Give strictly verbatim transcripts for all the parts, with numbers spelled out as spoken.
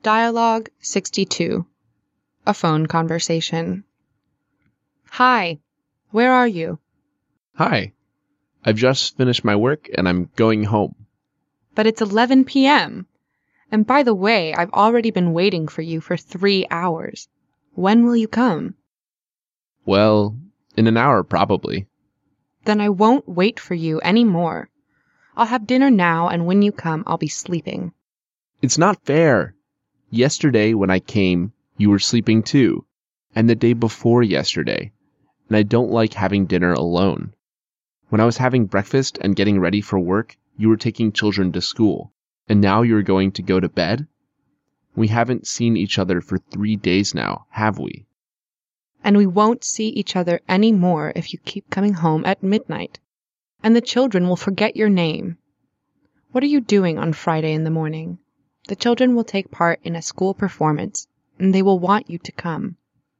Dialogue sixty-two. A phone conversation. Hi, where are you? Hi. I've just finished my work and I'm going home. But it's eleven p.m. And by the way, I've already been waiting for you for three hours. When will you come? Well, in an hour probably. Then I won't wait for you anymore. I'll have dinner now, and when you come, I'll be sleeping. It's not fair. Yesterday when I came, you were sleeping too. And the day before yesterday. And I don't like having dinner alone. When I was having breakfast and getting ready for work, you were taking children to school. And now you're going to go to bed? We haven't seen each other for three days now, have we? And we won't see each other any more if you keep coming home at midnight. And the children will forget your name. What are you doing on Friday in the morning? The children will take part in a school performance, and they will want you to come.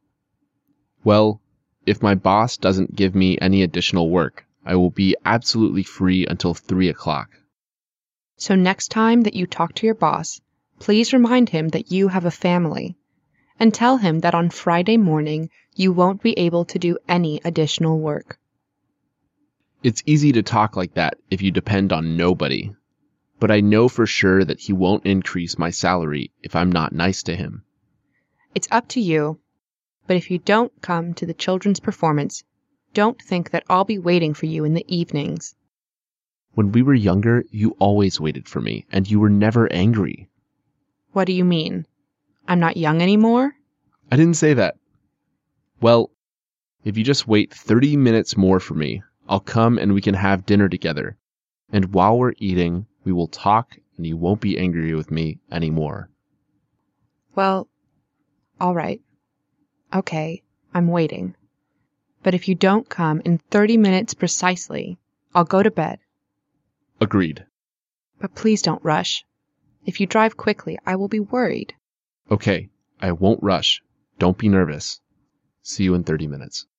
Well, if my boss doesn't give me any additional work, I will be absolutely free until three o'clock. So next time that you talk to your boss, please remind him that you have a family, and tell him that on Friday morning you won't be able to do any additional work. It's easy to talk like that if you depend on nobody. But I know for sure that he won't increase my salary if I'm not nice to him. It's up to you, but if you don't come to the children's performance, don't think that I'll be waiting for you in the evenings. When we were younger, you always waited for me, and you were never angry. What do you mean? I'm not young anymore? I didn't say that. Well, if you just wait thirty minutes more for me, I'll come and we can have dinner together. And while we're eating, we will talk and you won't be angry with me anymore. Well, all right. Okay, I'm waiting. But if you don't come in thirty minutes precisely, I'll go to bed. Agreed. But please don't rush. If you drive quickly, I will be worried. Okay, I won't rush. Don't be nervous. See you in thirty minutes.